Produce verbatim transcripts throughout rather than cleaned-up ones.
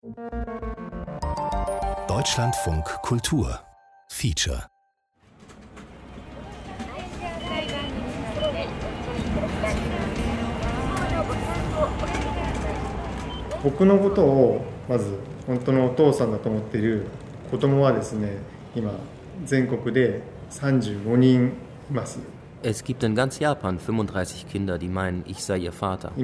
Deutschlandfunk Kultur Feature. Es gibt in ganz Japan fünfunddreißig Kinder, die meinen, ich sei ihr Vater.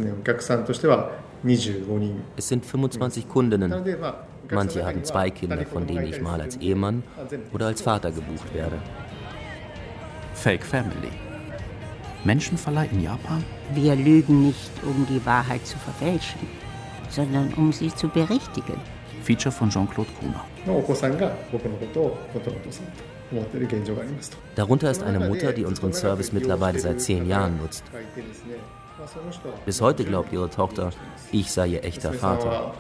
Es sind fünfundzwanzig Kundinnen. Manche haben zwei Kinder, von denen ich mal als Ehemann oder als Vater gebucht werde. Fake Family. Menschenverleih in Japan? Wir lügen nicht, um die Wahrheit zu verfälschen, sondern um sie zu berichtigen. Feature von Jean-Claude Gruner. Darunter ist eine Mutter, die unseren Service mittlerweile seit zehn Jahren nutzt. Bis heute glaubt ihre Tochter, ich sei ihr echter Vater.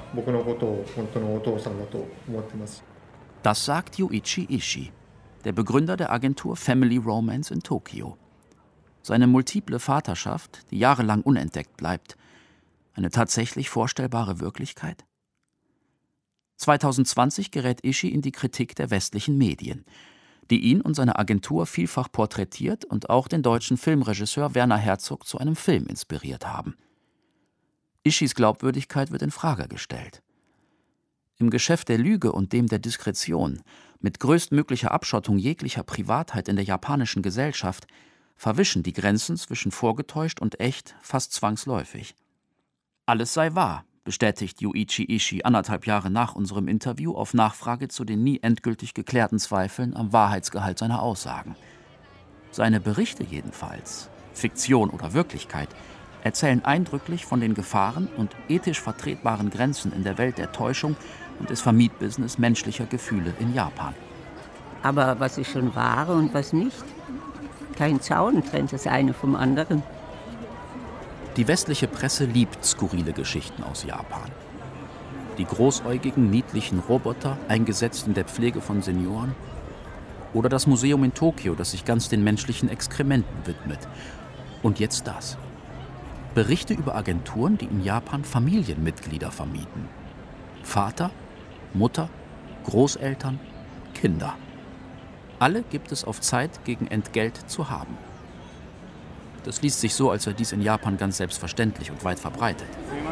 Das sagt Yuichi Ishii, der Begründer der Agentur Family Romance in Tokio. Seine multiple Vaterschaft, die jahrelang unentdeckt bleibt, eine tatsächlich vorstellbare Wirklichkeit? zweitausendzwanzig gerät Ishii in die Kritik der westlichen Medien, die ihn und seine Agentur vielfach porträtiert und auch den deutschen Filmregisseur Werner Herzog zu einem Film inspiriert haben. Ishiis Glaubwürdigkeit wird in Frage gestellt. Im Geschäft der Lüge und dem der Diskretion, mit größtmöglicher Abschottung jeglicher Privatheit in der japanischen Gesellschaft, verwischen die Grenzen zwischen vorgetäuscht und echt fast zwangsläufig. Alles sei wahr, bestätigt Yuichi Ishii anderthalb Jahre nach unserem Interview auf Nachfrage zu den nie endgültig geklärten Zweifeln am Wahrheitsgehalt seiner Aussagen. Seine Berichte jedenfalls, Fiktion oder Wirklichkeit, erzählen eindrücklich von den Gefahren und ethisch vertretbaren Grenzen in der Welt der Täuschung und des Vermietbusiness menschlicher Gefühle in Japan. Aber was ist schon wahr und was nicht? Kein Zaun trennt das eine vom anderen. Die westliche Presse liebt skurrile Geschichten aus Japan. Die großäugigen, niedlichen Roboter, eingesetzt in der Pflege von Senioren. Oder das Museum in Tokio, das sich ganz den menschlichen Exkrementen widmet. Und jetzt das. Berichte über Agenturen, die in Japan Familienmitglieder vermieten. Vater, Mutter, Großeltern, Kinder. Alle gibt es auf Zeit gegen Entgelt zu haben. Das liest sich so, als sei dies in Japan ganz selbstverständlich und weit verbreitet.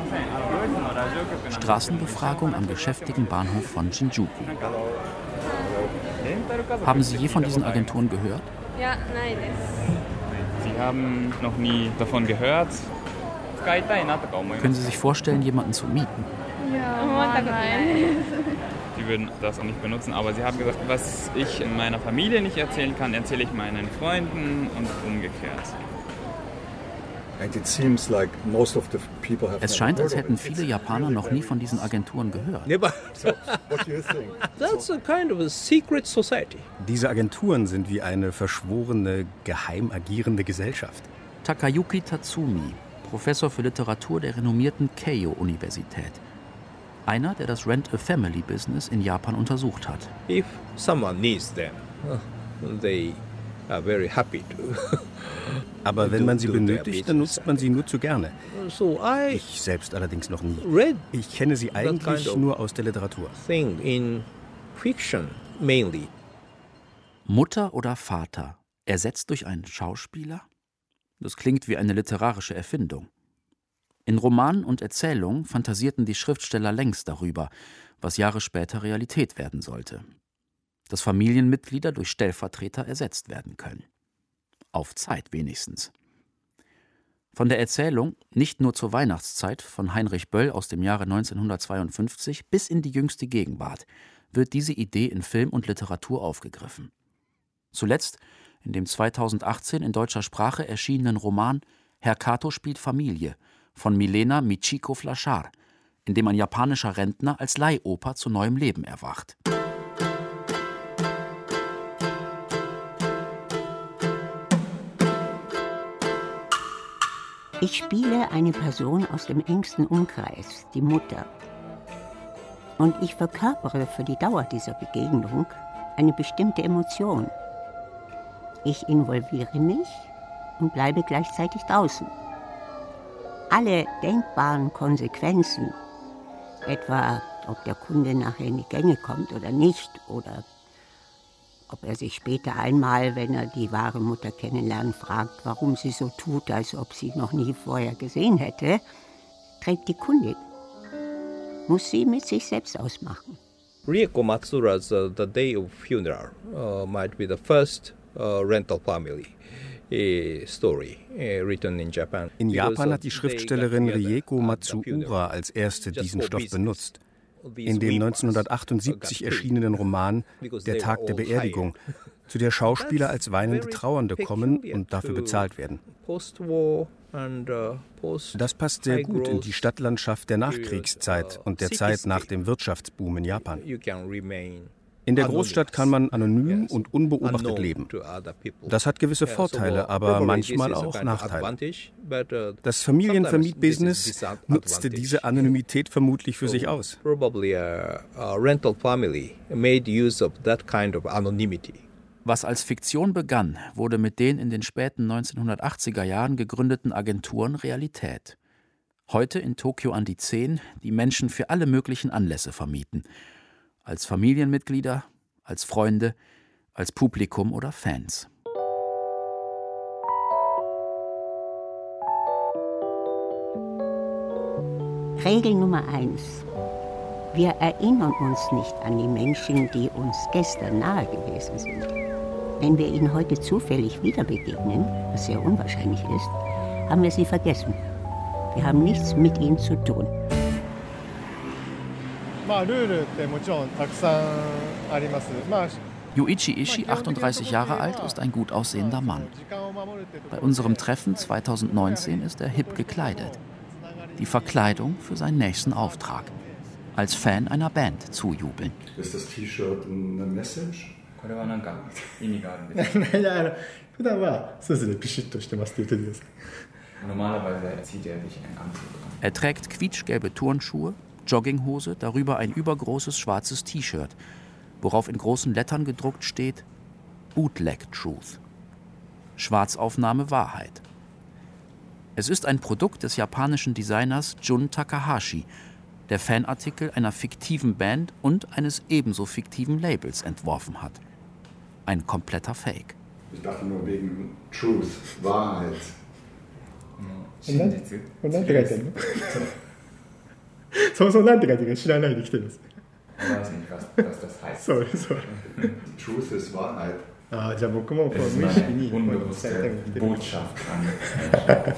Straßenbefragung am geschäftigen Bahnhof von Shinjuku. Haben Sie je von diesen Agenturen gehört? Ja, nein. Sie haben noch nie davon gehört? Können Sie sich vorstellen, jemanden zu mieten? Ja, nein. Sie würden das auch nicht benutzen, aber Sie haben gesagt, was ich in meiner Familie nicht erzählen kann, erzähle ich meinen Freunden und umgekehrt. Es scheint, als hätten viele Japaner noch nie von diesen Agenturen gehört. Diese Agenturen sind wie eine verschworene, geheim agierende Gesellschaft. Takayuki Tatsumi, Professor für Literatur der renommierten Keio-Universität. Einer, der das Rent-a-Family-Business in Japan untersucht hat. If someone needs them, they are very happy to. Aber wenn man sie benötigt, dann nutzt man sie nur zu gerne. Ich selbst allerdings noch nie. Ich kenne sie eigentlich nur aus der Literatur. In fiction mainly. Mutter oder Vater, ersetzt durch einen Schauspieler? Das klingt wie eine literarische Erfindung. In Romanen und Erzählungen fantasierten die Schriftsteller längst darüber, was Jahre später Realität werden sollte. Dass Familienmitglieder durch Stellvertreter ersetzt werden können. Auf Zeit wenigstens. Von der Erzählung, nicht nur zur Weihnachtszeit, von Heinrich Böll aus dem Jahre neunzehnhundertzweiundfünfzig bis in die jüngste Gegenwart, wird diese Idee in Film und Literatur aufgegriffen. Zuletzt in dem zweitausendachtzehn in deutscher Sprache erschienenen Roman Herr Kato spielt Familie von Milena Michiko Flachar, in dem ein japanischer Rentner als Leihoper zu neuem Leben erwacht. Ich spiele eine Person aus dem engsten Umkreis, die Mutter. Und ich verkörpere für die Dauer dieser Begegnung eine bestimmte Emotion. Ich involviere mich und bleibe gleichzeitig draußen. Alle denkbaren Konsequenzen, etwa ob der Kunde nachher in die Gänge kommt oder nicht, oder ob er sich später einmal, wenn er die wahre Mutter kennenlernt, fragt, warum sie so tut, als ob sie noch nie vorher gesehen hätte, trägt die Kundin. Muss sie mit sich selbst ausmachen. Rieko Matsura's uh, The Day of Funeral uh, might be the first uh, rental family uh, story uh, written in Japan. In Japan hat die Schriftstellerin Rieko Matsuura als erste diesen Stoff benutzt. In dem neunzehnhundertachtundsiebzig erschienenen Roman Der Tag der Beerdigung, zu der Schauspieler als weinende Trauernde kommen und dafür bezahlt werden. Das passt sehr gut in die Stadtlandschaft der Nachkriegszeit und der Zeit nach dem Wirtschaftsboom in Japan. In der Großstadt kann man anonym und unbeobachtet leben. Das hat gewisse Vorteile, aber manchmal auch Nachteile. Das Familienvermietbusiness nutzte diese Anonymität vermutlich für sich aus. Was als Fiktion begann, wurde mit den in den späten neunzehnhundertachtziger Jahren gegründeten Agenturen Realität. Heute in Tokio an die zehn, die Menschen für alle möglichen Anlässe vermieten. Als Familienmitglieder, als Freunde, als Publikum oder Fans. Regel Nummer eins. Wir erinnern uns nicht an die Menschen, die uns gestern nahe gewesen sind. Wenn wir ihnen heute zufällig wieder begegnen, was sehr unwahrscheinlich ist, haben wir sie vergessen. Wir haben nichts mit ihnen zu tun. Yuichi Ishii, achtunddreißig Jahre alt, ist ein gut aussehender Mann. Bei unserem Treffen zweitausendneunzehn ist er hip gekleidet. Die Verkleidung für seinen nächsten Auftrag. Als Fan einer Band zujubeln. Ist das T-Shirt eine Message? Normalerweise zieht er sich einen Anzug an. Er trägt quietschgelbe Turnschuhe, Jogginghose, darüber ein übergroßes schwarzes T-Shirt, worauf in großen Lettern gedruckt steht Bootleg Truth. Schwarzaufnahme Wahrheit. Es ist ein Produkt des japanischen Designers Jun Takahashi, der Fanartikel einer fiktiven Band und eines ebenso fiktiven Labels entworfen hat. Ein kompletter Fake. Ich dachte nur wegen Truth, Wahrheit. Ich weiß nicht, was, was das heißt. Sorry, sorry. Truth ist Wahrheit. Ah, ja, es ist eine unbewusste Botschaft an.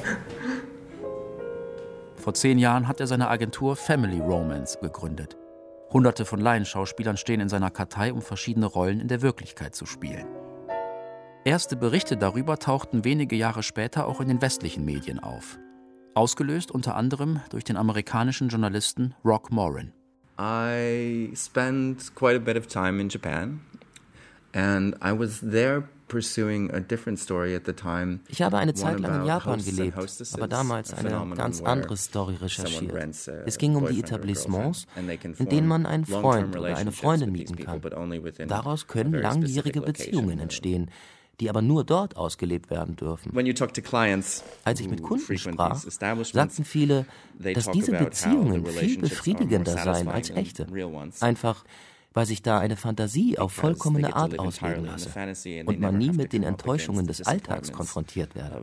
Vor zehn Jahren hat er seine Agentur Family Romance gegründet. Hunderte von Laienschauspielern stehen in seiner Kartei, um verschiedene Rollen in der Wirklichkeit zu spielen. Erste Berichte darüber tauchten wenige Jahre später auch in den westlichen Medien auf. Ausgelöst unter anderem durch den amerikanischen Journalisten Rock Morin. I spent quite a bit of time in Japan and I was there pursuing a different story at the time. Ich habe eine Zeit lang in Japan gelebt, aber damals eine ganz andere Story recherchiert. Es ging um die Etablissements, in denen man einen Freund oder eine Freundin mieten kann. Daraus können langjährige Beziehungen entstehen, die aber nur dort ausgelebt werden dürfen. Als ich mit Kunden sprach, sagten viele, dass diese Beziehungen viel befriedigender seien als echte. Einfach, weil sich da eine Fantasie auf vollkommene Art ausleben lasse und man nie mit den Enttäuschungen des Alltags konfrontiert werde.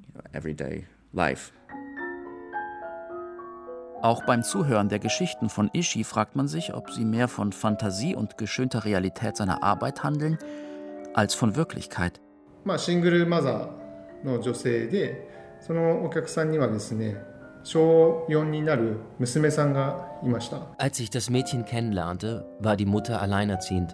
Auch beim Zuhören der Geschichten von Ishii fragt man sich, ob sie mehr von Fantasie und geschönter Realität seiner Arbeit handeln, als von Wirklichkeit. Als ich das Mädchen kennenlernte, war die Mutter alleinerziehend.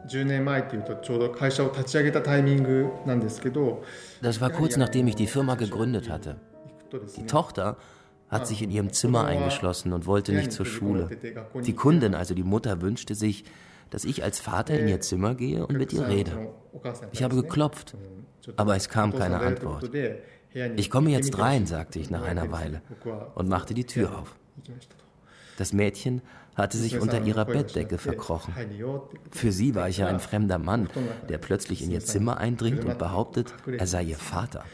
Das war kurz nachdem ich die Firma gegründet hatte. Die Tochter hat sich in ihrem Zimmer eingeschlossen und wollte nicht zur Schule. Die Kundin, also die Mutter, wünschte sich, dass ich als Vater in ihr Zimmer gehe und mit ihr rede. Ich habe geklopft, aber es kam keine Antwort. Ich komme jetzt rein, sagte ich nach einer Weile und machte die Tür auf. Das Mädchen hatte sich unter ihrer Bettdecke verkrochen. Für sie war ich ja ein fremder Mann, der plötzlich in ihr Zimmer eindringt und behauptet, er sei ihr Vater.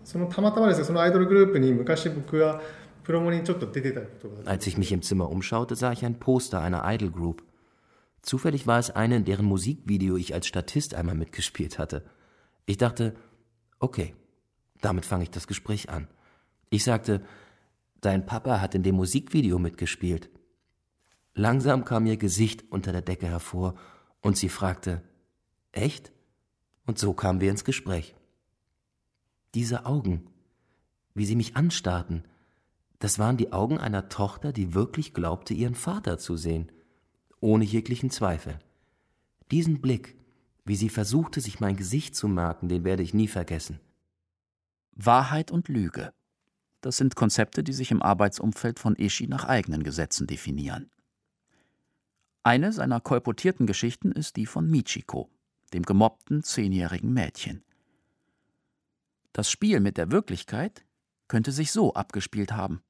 Als ich mich im Zimmer umschaute, sah ich ein Poster einer Idol Group. Zufällig war es eine, in deren Musikvideo ich als Statist einmal mitgespielt hatte. Ich dachte, okay, damit fange ich das Gespräch an. Ich sagte, dein Papa hat in dem Musikvideo mitgespielt. Langsam kam ihr Gesicht unter der Decke hervor und sie fragte, echt? Und so kamen wir ins Gespräch. Diese Augen, wie sie mich anstarrten, das waren die Augen einer Tochter, die wirklich glaubte, ihren Vater zu sehen, ohne jeglichen Zweifel. Diesen Blick, wie sie versuchte, sich mein Gesicht zu merken, den werde ich nie vergessen. Wahrheit und Lüge. Das sind Konzepte, die sich im Arbeitsumfeld von Ishii nach eigenen Gesetzen definieren. Eine seiner kolportierten Geschichten ist die von Michiko, dem gemobbten zehnjährigen Mädchen. Das Spiel mit der Wirklichkeit könnte sich so abgespielt haben.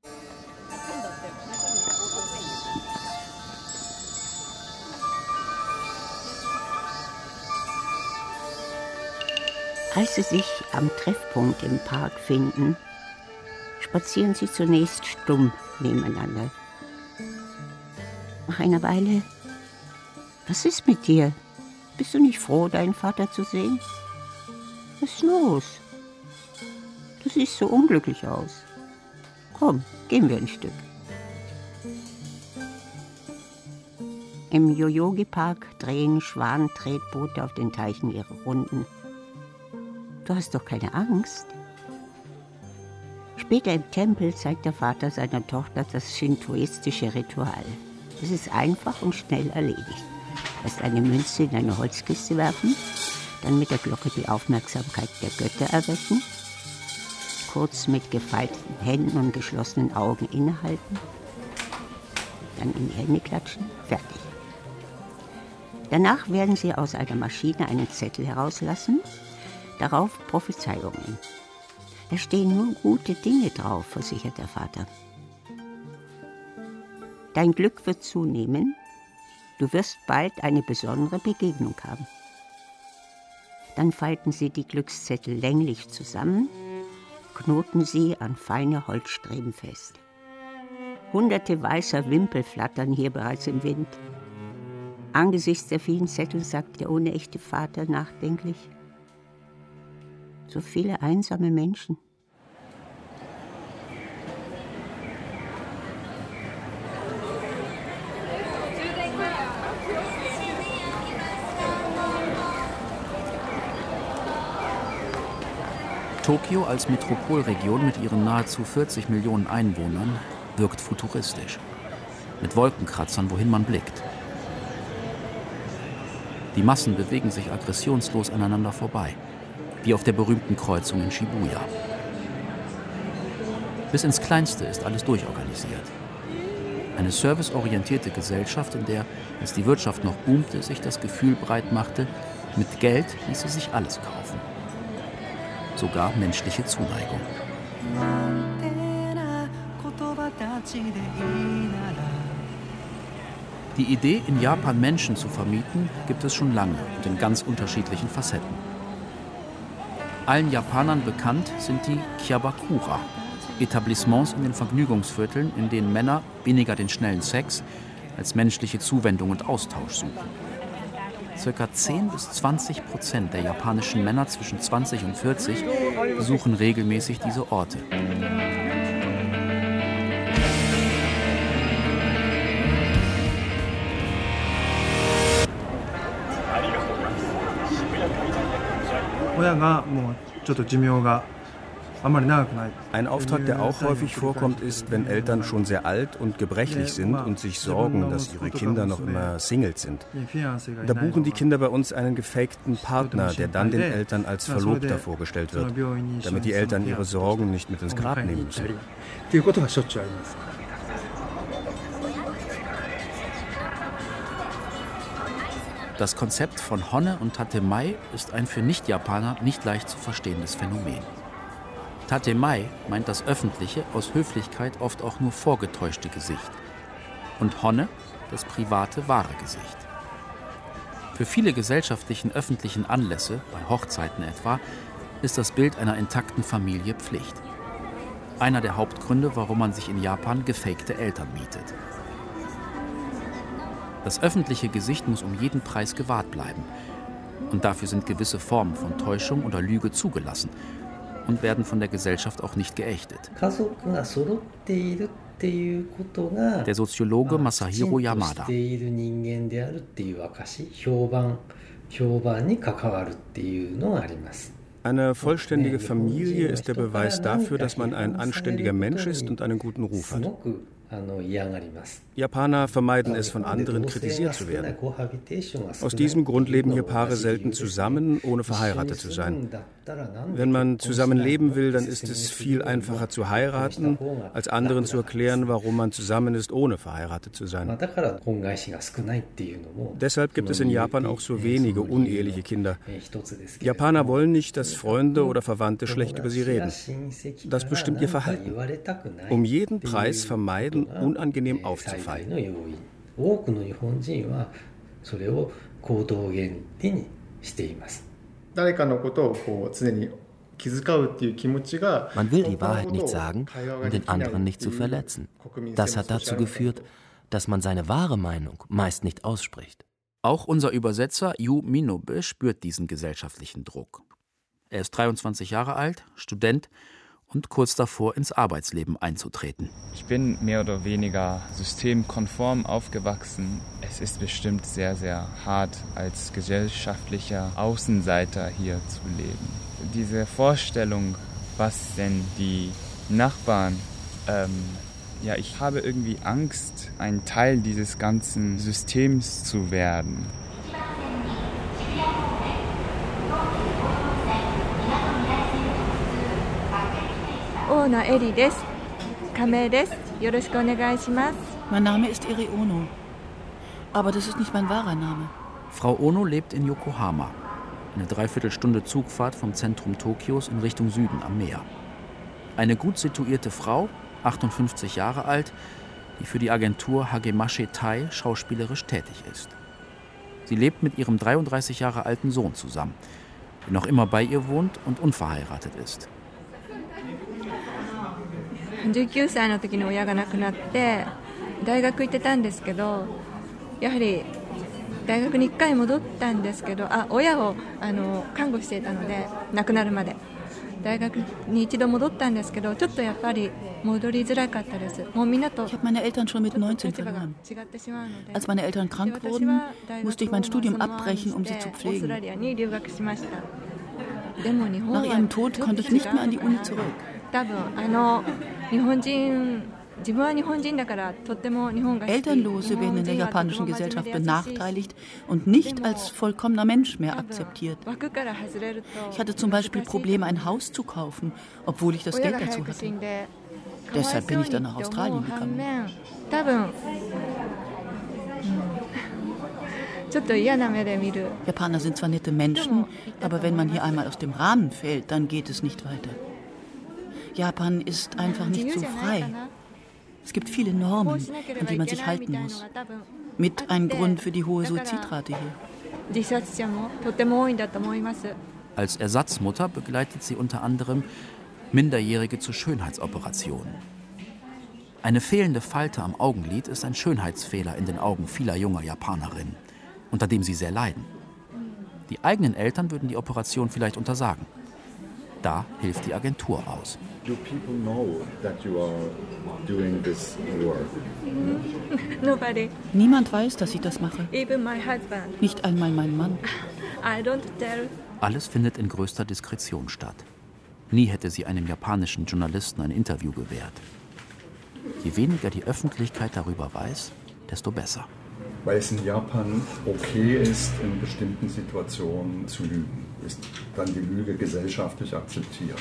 Als sie sich am Treffpunkt im Park finden, spazieren sie zunächst stumm nebeneinander. Nach einer Weile: Was ist mit dir? Bist du nicht froh, deinen Vater zu sehen? Was ist los? Du siehst so unglücklich aus. Komm, gehen wir ein Stück. Im Yoyogi-Park drehen Schwanentretboote auf den Teichen ihre Runden. Du hast doch keine Angst? Später im Tempel zeigt der Vater seiner Tochter das shintoistische Ritual. Es ist einfach und schnell erledigt. Erst eine Münze in eine Holzkiste werfen, dann mit der Glocke die Aufmerksamkeit der Götter erwecken, kurz mit gefalteten Händen und geschlossenen Augen innehalten, dann in die Hände klatschen, fertig. Danach werden sie aus einer Maschine einen Zettel herauslassen, darauf Prophezeiungen. Da stehen nur gute Dinge drauf, versichert der Vater. Dein Glück wird zunehmen, du wirst bald eine besondere Begegnung haben. Dann falten sie die Glückszettel länglich zusammen, knoten sie an feine Holzstreben fest. Hunderte weißer Wimpel flattern hier bereits im Wind. Angesichts der vielen Zettel sagt der unechte Vater nachdenklich: So viele einsame Menschen. Tokio als Metropolregion mit ihren nahezu vierzig Millionen Einwohnern wirkt futuristisch. Mit Wolkenkratzern, wohin man blickt. Die Massen bewegen sich aggressionslos aneinander vorbei, wie auf der berühmten Kreuzung in Shibuya. Bis ins Kleinste ist alles durchorganisiert. Eine serviceorientierte Gesellschaft, in der, als die Wirtschaft noch boomte, sich das Gefühl breit machte, mit Geld ließe sich alles kaufen. Sogar menschliche Zuneigung. Die Idee, in Japan Menschen zu vermieten, gibt es schon lange und in ganz unterschiedlichen Facetten. Allen Japanern bekannt sind die Kyabakura, Etablissements in den Vergnügungsvierteln, in denen Männer weniger den schnellen Sex als menschliche Zuwendung und Austausch suchen. Circa zehn bis zwanzig Prozent der japanischen Männer zwischen zwanzig und vierzig besuchen regelmäßig diese Orte. Ein Auftrag, der auch häufig vorkommt, ist, wenn Eltern schon sehr alt und gebrechlich sind und sich sorgen, dass ihre Kinder noch immer Singles sind. Da buchen die Kinder bei uns einen gefakten Partner, der dann den Eltern als Verlobter vorgestellt wird, damit die Eltern ihre Sorgen nicht mit ins Grab nehmen müssen. Das Konzept von Honne und Tatemai ist ein für Nicht-Japaner nicht leicht zu verstehendes Phänomen. Tatemai meint das öffentliche, aus Höflichkeit oft auch nur vorgetäuschte Gesicht. Und Honne das private, wahre Gesicht. Für viele gesellschaftlichen öffentlichen Anlässe, bei Hochzeiten etwa, ist das Bild einer intakten Familie Pflicht. Einer der Hauptgründe, warum man sich in Japan gefakte Eltern mietet. Das öffentliche Gesicht muss um jeden Preis gewahrt bleiben. Und dafür sind gewisse Formen von Täuschung oder Lüge zugelassen und werden von der Gesellschaft auch nicht geächtet. Der Soziologe Masahiro Yamada. Eine vollständige Familie ist der Beweis dafür, dass man ein anständiger Mensch ist und einen guten Ruf hat. Japaner vermeiden es, von anderen kritisiert zu werden. Aus diesem Grund leben hier Paare selten zusammen, ohne verheiratet zu sein. Wenn man zusammen leben will, dann ist es viel einfacher zu heiraten, als anderen zu erklären, warum man zusammen ist, ohne verheiratet zu sein. Deshalb gibt es in Japan auch so wenige uneheliche Kinder. Japaner wollen nicht, dass Freunde oder Verwandte schlecht über sie reden. Das bestimmt ihr Verhalten. Um jeden Preis vermeiden, unangenehm aufzufallen. Man will die Wahrheit nicht sagen, um den anderen nicht zu verletzen. Das hat dazu geführt, dass man seine wahre Meinung meist nicht ausspricht. Auch unser Übersetzer Yu Minobe spürt diesen gesellschaftlichen Druck. Er ist dreiundzwanzig Jahre alt, Student und kurz davor, ins Arbeitsleben einzutreten. Ich bin mehr oder weniger systemkonform aufgewachsen. Es ist bestimmt sehr, sehr hart, als gesellschaftlicher Außenseiter hier zu leben. Diese Vorstellung, was denn die Nachbarn, ähm, ja, ich habe irgendwie Angst, ein Teil dieses ganzen Systems zu werden. Mein Name ist Eri Ono, aber das ist nicht mein wahrer Name. Frau Ono lebt in Yokohama, eine Dreiviertelstunde Zugfahrt vom Zentrum Tokios in Richtung Süden am Meer. Eine gut situierte Frau, achtundfünfzig Jahre alt, die für die Agentur Hagemashi Tai schauspielerisch tätig ist. Sie lebt mit ihrem dreiunddreißig Jahre alten Sohn zusammen, der noch immer bei ihr wohnt und unverheiratet ist. じゅうきゅうさいの時に親が亡くなって大学行ってたんですけど、やはり大学にいっかい戻ったんですけど、あ、親をあの看護していたので亡くなるまで大学に一度戻ったんですけど、ちょっとやっぱり戻りづらかったです。もうみんなと Ich habe meine Eltern schon mit neunzehn verloren. Als meine Eltern krank wurden, musste ich mein Studium abbrechen, um sie zu pflegen. Nach ihrem Tod konnte ich nicht mehr an die Uni zurück. Elternlose werden in der japanischen Gesellschaft benachteiligt und nicht als vollkommener Mensch mehr akzeptiert. Ich hatte zum Beispiel Probleme, ein Haus zu kaufen, obwohl ich das Geld dazu hatte. Deshalb bin ich dann nach Australien gegangen. Japaner sind zwar nette Menschen, aber wenn man hier einmal aus dem Rahmen fällt, dann geht es nicht weiter. Japan ist einfach nicht so frei. Es gibt viele Normen, an die man sich halten muss. Mit ein Grund für die hohe Suizidrate hier. Als Ersatzmutter begleitet sie unter anderem Minderjährige zu Schönheitsoperationen. Eine fehlende Falte am Augenlid ist ein Schönheitsfehler in den Augen vieler junger Japanerinnen, unter dem sie sehr leiden. Die eigenen Eltern würden die Operation vielleicht untersagen. Da hilft die Agentur aus. Do people know that you are doing this work? Nobody. Niemand weiß, dass ich das mache. Even my husband. Nicht einmal mein Mann. I don't tell. Alles findet in größter Diskretion statt. Nie hätte sie einem japanischen Journalisten ein Interview gewährt. Je weniger die Öffentlichkeit darüber weiß, desto besser. Weil es in Japan okay ist, in bestimmten Situationen zu lügen, ist dann die Lüge gesellschaftlich akzeptiert.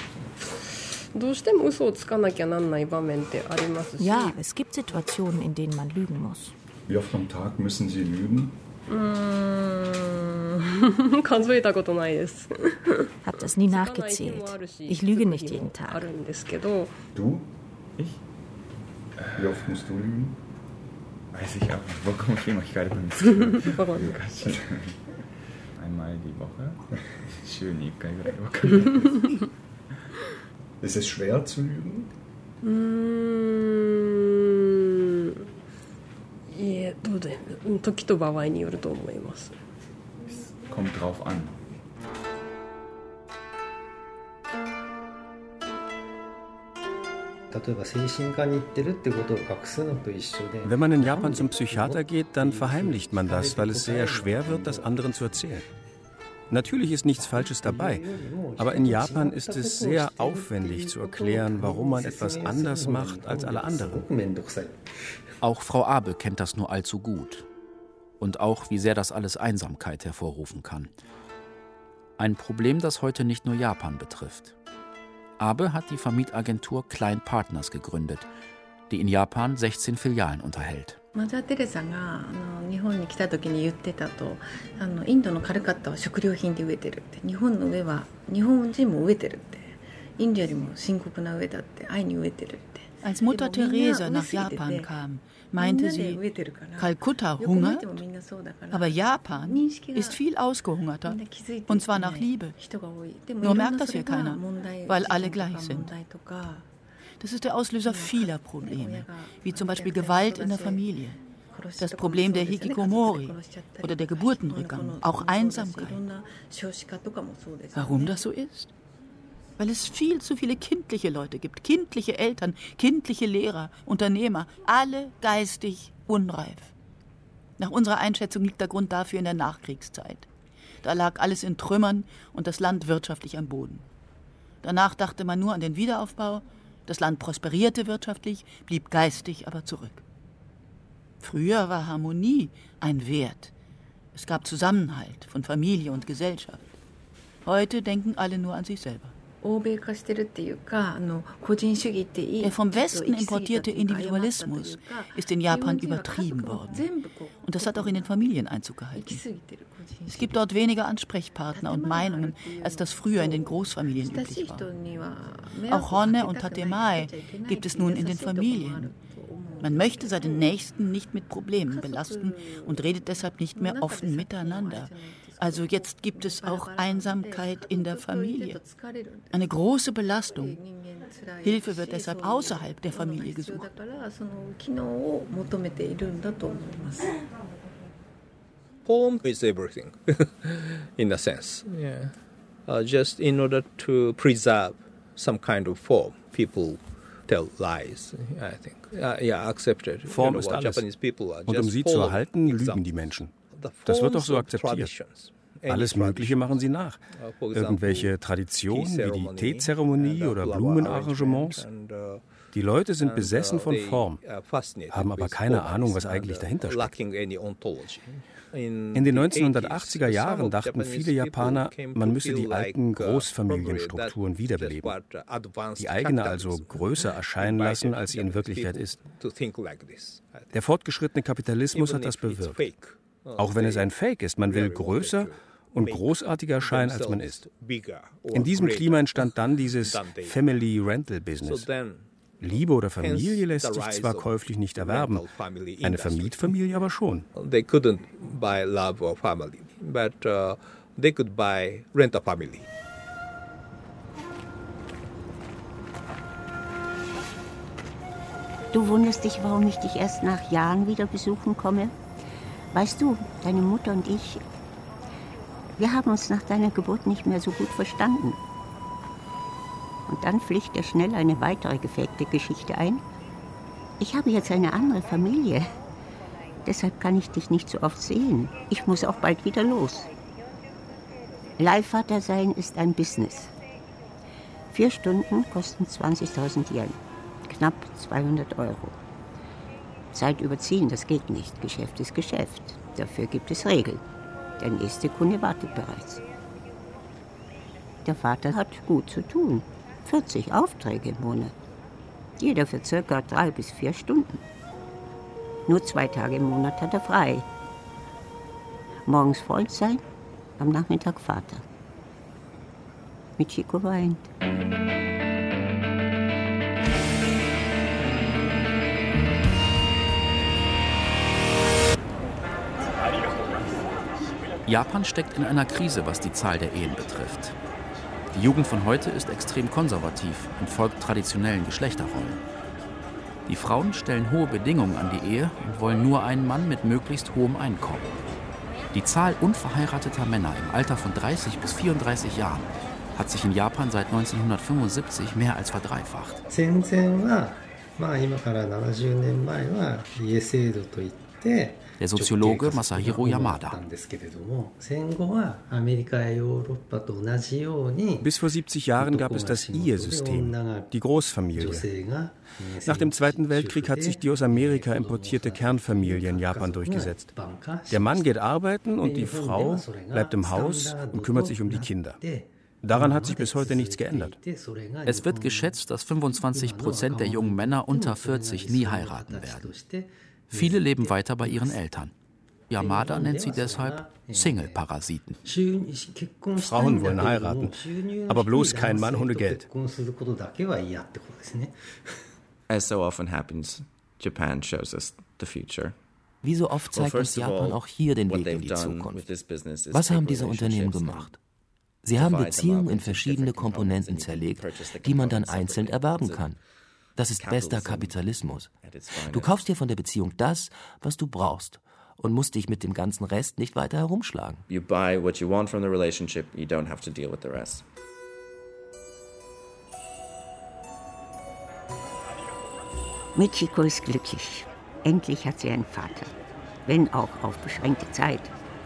Ja, es gibt Situationen, in denen man lügen muss. Wie oft am Tag müssen Sie lügen? Hab das nie nachgezählt. Ich lüge nicht jeden Tag. Du? Ich? Wie oft musst du lügen? Weiß ich auch nicht. Warum ich immer gerade beim einmal die Woche. Schön, ich kann gerade. Ist es schwer zu lügen? Es kommt drauf an. Wenn man in Japan zum Psychiater geht, dann verheimlicht man das, weil es sehr schwer wird, das anderen zu erzählen. Natürlich ist nichts Falsches dabei, aber in Japan ist es sehr aufwendig zu erklären, warum man etwas anders macht als alle anderen. Auch Frau Abe kennt das nur allzu gut. Und auch, wie sehr das alles Einsamkeit hervorrufen kann. Ein Problem, das heute nicht nur Japan betrifft. Abe hat die Vermietagentur Klein Partners gegründet, die in Japan sechzehn Filialen unterhält. Mother Teresa が日本に来た時に言ってたと、あのインドのカルカッタは食料品で飢えてるって、日本の上は日本人も飢えてるって、インドよりも深刻な上だって愛に飢えてるって。 Als Mutter Teresa nach Japan kam, meinte sie, Kalkutta hungert, aber Japan ist viel ausgehungerter, und zwar nach Liebe. Nur merkt das hier keiner, weil alle gleich sind. Das ist der Auslöser vieler Probleme, wie zum Beispiel Gewalt in der Familie, das Problem der Hikikomori oder der Geburtenrückgang, auch Einsamkeit. Warum das so ist? Weil es viel zu viele kindliche Leute gibt, kindliche Eltern, kindliche Lehrer, Unternehmer, alle geistig unreif. Nach unserer Einschätzung liegt der Grund dafür in der Nachkriegszeit. Da lag alles in Trümmern und das Land wirtschaftlich am Boden. Danach dachte man nur an den Wiederaufbau, das Land prosperierte wirtschaftlich, blieb geistig aber zurück. Früher war Harmonie ein Wert. Es gab Zusammenhalt von Familie und Gesellschaft. Heute denken alle nur an sich selber. Der vom Westen importierte Individualismus ist in Japan übertrieben worden. Und das hat auch in den Familien Einzug gehalten. Es gibt dort weniger Ansprechpartner und Meinungen, als das früher in den Großfamilien üblich war. Auch Honne und Tatemae gibt es nun in den Familien. Man möchte seinen Nächsten nicht mit Problemen belasten und redet deshalb nicht mehr offen miteinander. Also jetzt gibt es auch Einsamkeit in der Familie. Eine große Belastung. Hilfe wird deshalb außerhalb der Familie gesucht. Home is everything, in a sense. Yeah. Uh, just in order to preserve some kind of form, people tell lies, I think. Uh, yeah, accepted. Form ist alles. Und um sie zu erhalten, lügen die Menschen. Das wird doch so akzeptiert. Alles Mögliche machen sie nach. Irgendwelche Traditionen wie die Teezeremonie oder Blumenarrangements. Die Leute sind besessen von Form, haben aber keine Ahnung, was eigentlich dahinter steckt. In den neunzehnhundertachtziger Jahren dachten viele Japaner, man müsse die alten Großfamilienstrukturen wiederbeleben, die eigene also größer erscheinen lassen, als sie in Wirklichkeit ist. Der fortgeschrittene Kapitalismus hat das bewirkt. Auch wenn es ein Fake ist, man will größer und großartiger erscheinen, als man ist. In diesem Klima entstand dann dieses Family Rental Business. Liebe oder Familie lässt sich zwar käuflich nicht erwerben, eine Vermietfamilie aber schon. They couldn't buy love or family, but uh, they could buy rent a family. Du wunderst dich, warum ich dich erst nach Jahren wieder besuchen komme? Weißt du, deine Mutter und ich, wir haben uns nach deiner Geburt nicht mehr so gut verstanden. Und dann fliegt dir schnell eine weitere gefakte Geschichte ein. Ich habe jetzt eine andere Familie. Deshalb kann ich dich nicht so oft sehen. Ich muss auch bald wieder los. Leihvater sein ist ein Business. Vier Stunden kosten zwanzigtausend Yen, knapp zweihundert Euro. Zeit überziehen, das geht nicht. Geschäft ist Geschäft. Dafür gibt es Regeln. Der nächste Kunde wartet bereits. Der Vater hat gut zu tun. vierzig Aufträge im Monat. Jeder für circa drei bis vier Stunden. Nur zwei Tage im Monat hat er frei. Morgens Freund sein, am Nachmittag Vater. Michiko weint. Japan steckt in einer Krise, was die Zahl der Ehen betrifft. Die Jugend von heute ist extrem konservativ und folgt traditionellen Geschlechterrollen. Die Frauen stellen hohe Bedingungen an die Ehe und wollen nur einen Mann mit möglichst hohem Einkommen. Die Zahl unverheirateter Männer im Alter von dreißig bis vierunddreißig Jahren hat sich in Japan seit neunzehnhundertfünfundsiebzig mehr als verdreifacht. Der Soziologe Masahiro Yamada. Bis vor siebzig Jahren gab es das Ehe-System, die Großfamilie. Nach dem Zweiten Weltkrieg hat sich die aus Amerika importierte Kernfamilie in Japan durchgesetzt. Der Mann geht arbeiten und die Frau bleibt im Haus und kümmert sich um die Kinder. Daran hat sich bis heute nichts geändert. Es wird geschätzt, dass fünfundzwanzig Prozent der jungen Männer unter vierzig nie heiraten werden. Viele leben weiter bei ihren Eltern. Yamada nennt sie deshalb Single-Parasiten. Frauen wollen heiraten, aber bloß kein Mann ohne Geld. As so often happens, Japan shows us the future. Wie so oft zeigt uns Japan auch hier den Weg in die Zukunft. Was haben diese Unternehmen gemacht? Sie haben Beziehungen in verschiedene Komponenten zerlegt, die man dann einzeln erwerben kann. Das ist bester Kapitalismus. Du kaufst dir von der Beziehung das, was du brauchst und musst dich mit dem ganzen Rest nicht weiter herumschlagen. You buy what you want from the relationship, you don't have to deal with the rest. Michiko ist glücklich. Endlich hat sie einen Vater, wenn auch auf beschränkte Zeit.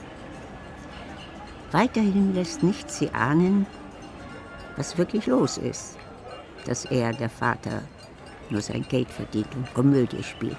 Weiterhin lässt nichts sie ahnen, was wirklich los ist, dass er, der Vater, nur sein Geld verdient und Komödie spielt.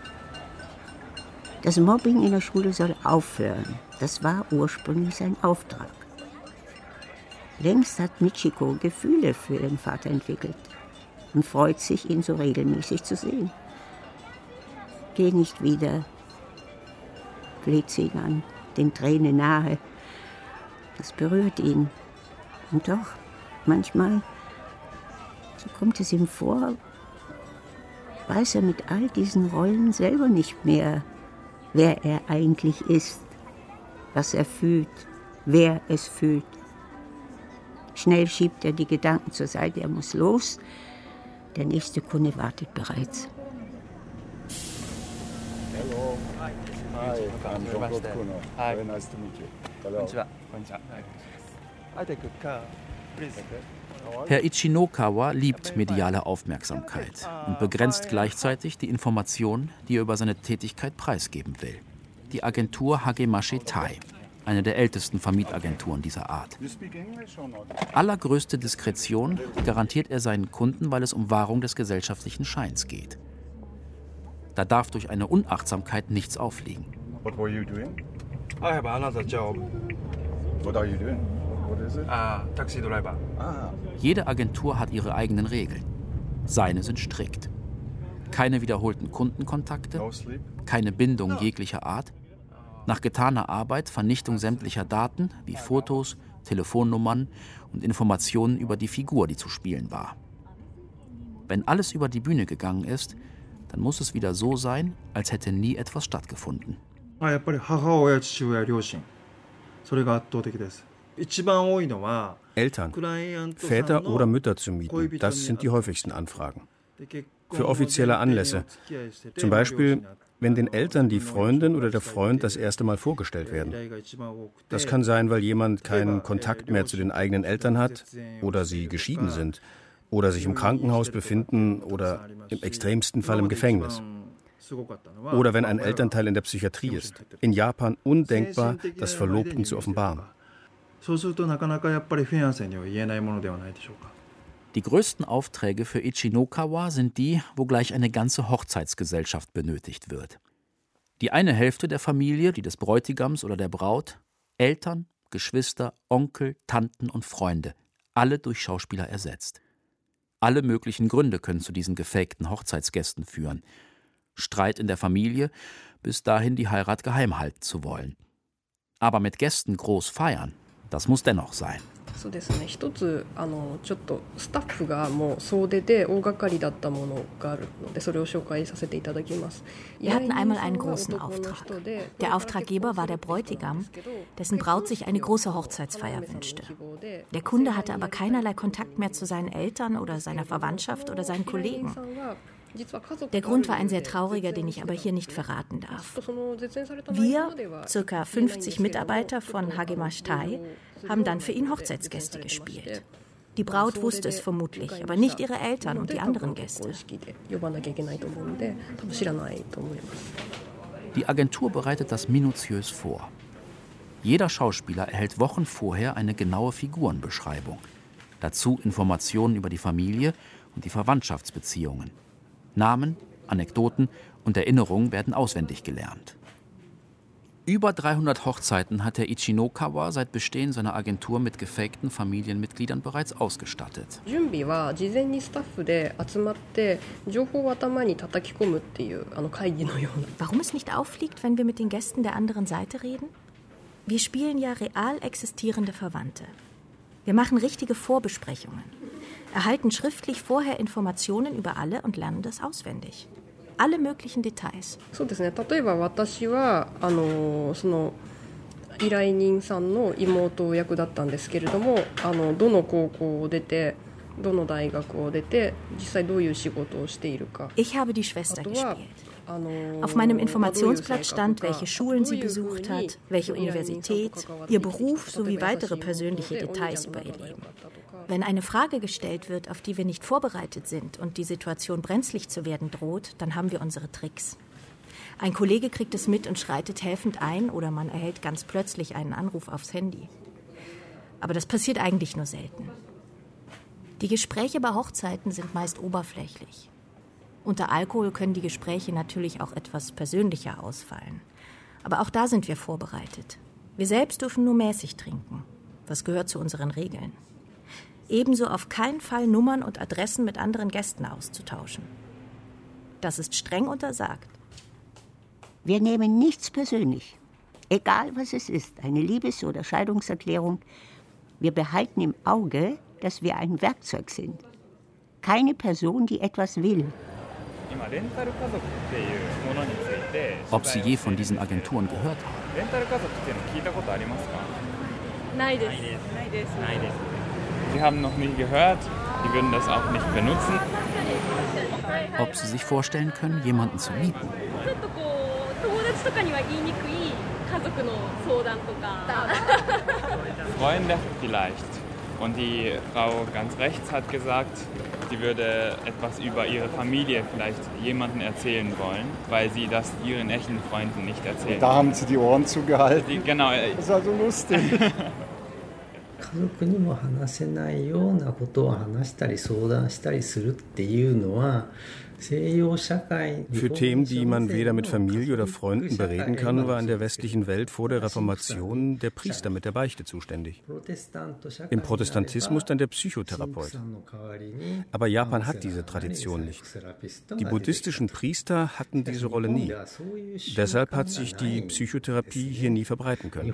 Das Mobbing in der Schule soll aufhören. Das war ursprünglich sein Auftrag. Längst hat Michiko Gefühle für ihren Vater entwickelt und freut sich, ihn so regelmäßig zu sehen. Geh nicht wieder, fleht sie ihn an, den Tränen nahe. Das berührt ihn. Und doch, manchmal, so kommt es ihm vor, weiß er mit all diesen Rollen selber nicht mehr, wer er eigentlich ist, was er fühlt, wer es fühlt. Schnell schiebt er die Gedanken zur Seite, er muss los. Der nächste Kunde wartet bereits. Hello. Hi. Hi. I'm John Kuno. Hi. Very nice to meet you. Hello. Konnichiwa. Konnichiwa. I take a car, please. Herr Ichinokawa liebt mediale Aufmerksamkeit und begrenzt gleichzeitig die Informationen, die er über seine Tätigkeit preisgeben will. Die Agentur Hagemashi Tai, eine der ältesten Vermietagenturen dieser Art. Allergrößte Diskretion garantiert er seinen Kunden, weil es um Wahrung des gesellschaftlichen Scheins geht. Da darf durch eine Unachtsamkeit nichts aufliegen. What were you doing? I have another job. What are you doing? What is it? Ah, taxi driver. Ah. Jede Agentur hat ihre eigenen Regeln. Seine sind strikt. Keine wiederholten Kundenkontakte, No sleep? keine Bindung jeglicher Art. Nach getaner Arbeit Vernichtung sämtlicher Daten wie Fotos, Telefonnummern und Informationen über die Figur, die zu spielen war. Wenn alles über die Bühne gegangen ist, dann muss es wieder so sein, als hätte nie etwas stattgefunden. Eltern, Väter oder Mütter zu mieten, das sind die häufigsten Anfragen. Für offizielle Anlässe. Zum Beispiel, wenn den Eltern die Freundin oder der Freund das erste Mal vorgestellt werden. Das kann sein, weil jemand keinen Kontakt mehr zu den eigenen Eltern hat oder sie geschieden sind oder sich im Krankenhaus befinden oder im extremsten Fall im Gefängnis. Oder wenn ein Elternteil in der Psychiatrie ist. In Japan undenkbar, das Verlobten zu offenbaren. Die größten Aufträge für Ichinokawa sind die, wo gleich eine ganze Hochzeitsgesellschaft benötigt wird. Die eine Hälfte der Familie, die des Bräutigams oder der Braut, Eltern, Geschwister, Onkel, Tanten und Freunde, alle durch Schauspieler ersetzt. Alle möglichen Gründe können zu diesen gefakten Hochzeitsgästen führen. Streit in der Familie, bis dahin die Heirat geheim halten zu wollen. Aber mit Gästen groß feiern, Das muss dennoch sein. Wir hatten einmal einen großen Auftrag. Der Auftraggeber war der Bräutigam, dessen Braut sich eine große Hochzeitsfeier wünschte. Der Kunde hatte aber keinerlei Kontakt mehr zu seinen Eltern oder seiner Verwandtschaft oder seinen Kollegen. Der Grund war ein sehr trauriger, den ich aber hier nicht verraten darf. Wir, ca. fünfzig Mitarbeiter von Hagemash Tai, haben dann für ihn Hochzeitsgäste gespielt. Die Braut wusste es vermutlich, aber nicht ihre Eltern und die anderen Gäste. Die Agentur bereitet das minutiös vor. Jeder Schauspieler erhält Wochen vorher eine genaue Figurenbeschreibung. Dazu Informationen über die Familie und die Verwandtschaftsbeziehungen. Namen, Anekdoten und Erinnerungen werden auswendig gelernt. Über dreihundert Hochzeiten hat der Ichinokawa seit Bestehen seiner Agentur mit gefakten Familienmitgliedern bereits ausgestattet. Warum es nicht auffliegt, wenn wir mit den Gästen der anderen Seite reden? Wir spielen ja real existierende Verwandte. Wir machen richtige Vorbesprechungen, erhalten schriftlich vorher Informationen über alle und lernen das auswendig. Alle möglichen Details. Ich habe die Schwester gespielt. Auf meinem Informationsblatt stand, welche Schulen sie besucht hat, welche Universität, ihr Beruf sowie weitere persönliche Details über ihr Leben. Wenn eine Frage gestellt wird, auf die wir nicht vorbereitet sind und die Situation brenzlig zu werden droht, dann haben wir unsere Tricks. Ein Kollege kriegt es mit und schreitet helfend ein oder man erhält ganz plötzlich einen Anruf aufs Handy. Aber das passiert eigentlich nur selten. Die Gespräche bei Hochzeiten sind meist oberflächlich. Unter Alkohol können die Gespräche natürlich auch etwas persönlicher ausfallen. Aber auch da sind wir vorbereitet. Wir selbst dürfen nur mäßig trinken. Das gehört zu unseren Regeln. Ebenso auf keinen Fall Nummern und Adressen mit anderen Gästen auszutauschen. Das ist streng untersagt. Wir nehmen nichts persönlich. Egal was es ist, eine Liebes- oder Scheidungserklärung. Wir behalten im Auge, dass wir ein Werkzeug sind. Keine Person, die etwas will. Ob Sie je von diesen Agenturen gehört haben? Sie haben noch nie gehört, die würden das auch nicht benutzen. Ob Sie sich vorstellen können, jemanden zu mieten? Freunde vielleicht. Und die Frau ganz rechts hat gesagt, sie würde etwas über ihre Familie vielleicht jemandem erzählen wollen, weil sie das ihren echten Freunden nicht erzählen. Da haben sie die Ohren zugehalten. Die, genau. Das ist also lustig. Für Themen, die man weder mit Familie oder Freunden bereden kann, war in der westlichen Welt vor der Reformation der Priester mit der Beichte zuständig. Im Protestantismus dann der Psychotherapeut. Aber Japan hat diese Tradition nicht. Die buddhistischen Priester hatten diese Rolle nie. Deshalb hat sich die Psychotherapie hier nie verbreiten können.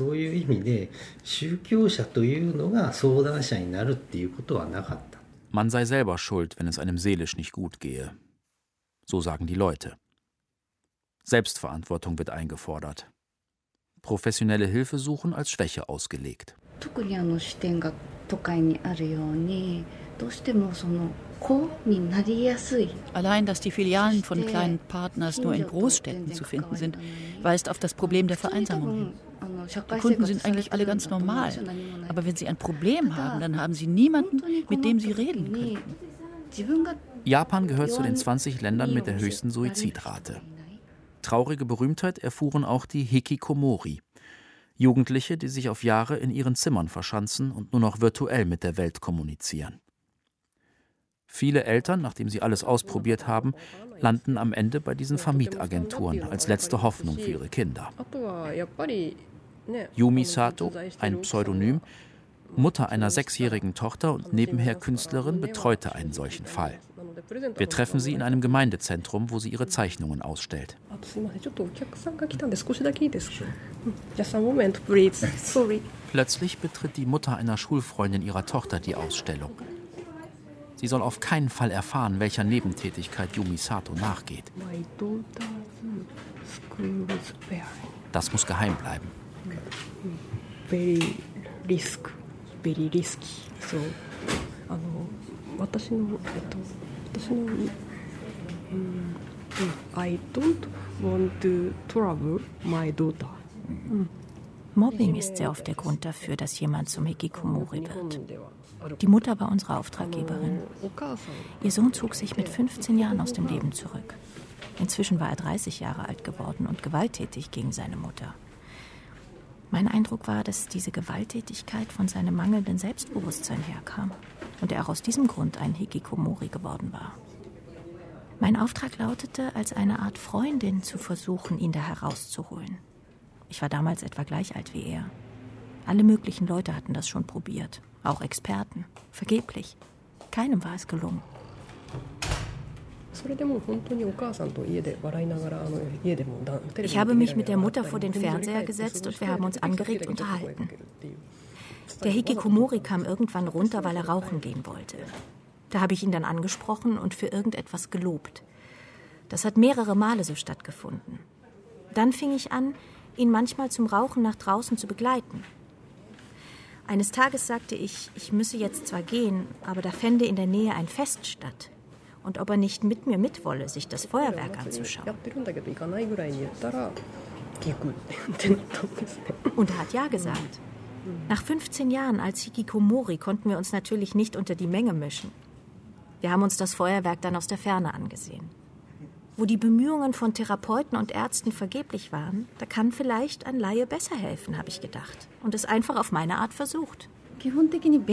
Man sei selber schuld, wenn es einem seelisch nicht gut gehe. So sagen die Leute. Selbstverantwortung wird eingefordert. Professionelle Hilfe suchen als Schwäche ausgelegt. Allein, dass die Filialen von kleinen Partners nur in Großstädten zu finden sind, weist auf das Problem der Vereinsamung hin. Die Kunden sind eigentlich alle ganz normal, aber wenn sie ein Problem haben, dann haben sie niemanden, mit dem sie reden können. Japan gehört zu den zwanzig Ländern mit der höchsten Suizidrate. Traurige Berühmtheit erfuhren auch die Hikikomori, Jugendliche, die sich auf Jahre in ihren Zimmern verschanzen und nur noch virtuell mit der Welt kommunizieren. Viele Eltern, nachdem sie alles ausprobiert haben, landen am Ende bei diesen Vermietagenturen als letzte Hoffnung für ihre Kinder. Yumi Sato, ein Pseudonym, Mutter einer sechsjährigen Tochter und nebenher Künstlerin, betreute einen solchen Fall. Wir treffen sie in einem Gemeindezentrum, wo sie ihre Zeichnungen ausstellt. Plötzlich betritt die Mutter einer Schulfreundin ihrer Tochter die Ausstellung. Sie soll auf keinen Fall erfahren, welcher Nebentätigkeit Yumi Sato nachgeht. Das muss geheim bleiben. Very risk, very risky. So, I don't want to trouble my daughter. Mobbing ist sehr oft der Grund dafür, dass jemand zum Hikikomori wird. Die Mutter war unsere Auftraggeberin. Ihr Sohn zog sich mit fünfzehn Jahren aus dem Leben zurück. Inzwischen war er dreißig Jahre alt geworden und gewalttätig gegen seine Mutter. Mein Eindruck war, dass diese Gewalttätigkeit von seinem mangelnden Selbstbewusstsein herkam und er auch aus diesem Grund ein Hikikomori geworden war. Mein Auftrag lautete, als eine Art Freundin zu versuchen, ihn da herauszuholen. Ich war damals etwa gleich alt wie er. Alle möglichen Leute hatten das schon probiert, auch Experten. Vergeblich. Keinem war es gelungen. Ich habe mich mit der Mutter vor den Fernseher gesetzt und wir haben uns angeregt unterhalten. Der Hikikomori kam irgendwann runter, weil er rauchen gehen wollte. Da habe ich ihn dann angesprochen und für irgendetwas gelobt. Das hat mehrere Male so stattgefunden. Dann fing ich an, ihn manchmal zum Rauchen nach draußen zu begleiten. Eines Tages sagte ich, ich müsse jetzt zwar gehen, aber da fände in der Nähe ein Fest statt. Und ob er nicht mit mir mitwolle, sich das Feuerwerk anzuschauen. Und er hat ja gesagt. Nach fünfzehn Jahren als Hikikomori konnten wir uns natürlich nicht unter die Menge mischen. Wir haben uns das Feuerwerk dann aus der Ferne angesehen. Wo die Bemühungen von Therapeuten und Ärzten vergeblich waren, da kann vielleicht ein Laie besser helfen, habe ich gedacht. Und es einfach auf meine Art versucht. Kennen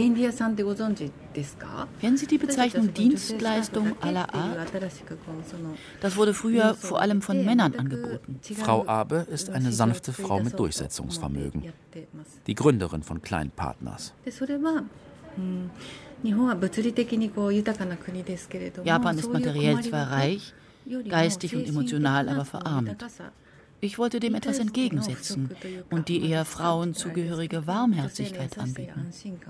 Sie die Bezeichnung Dienstleistung à la Art? Das wurde früher vor allem von Männern angeboten. Frau Abe ist eine sanfte Frau mit Durchsetzungsvermögen. Die Gründerin von Kleinpartners. Japan ist materiell zwar reich, geistig und emotional aber verarmt. Ich wollte dem etwas entgegensetzen und die eher Frauen zugehörige Warmherzigkeit anbieten.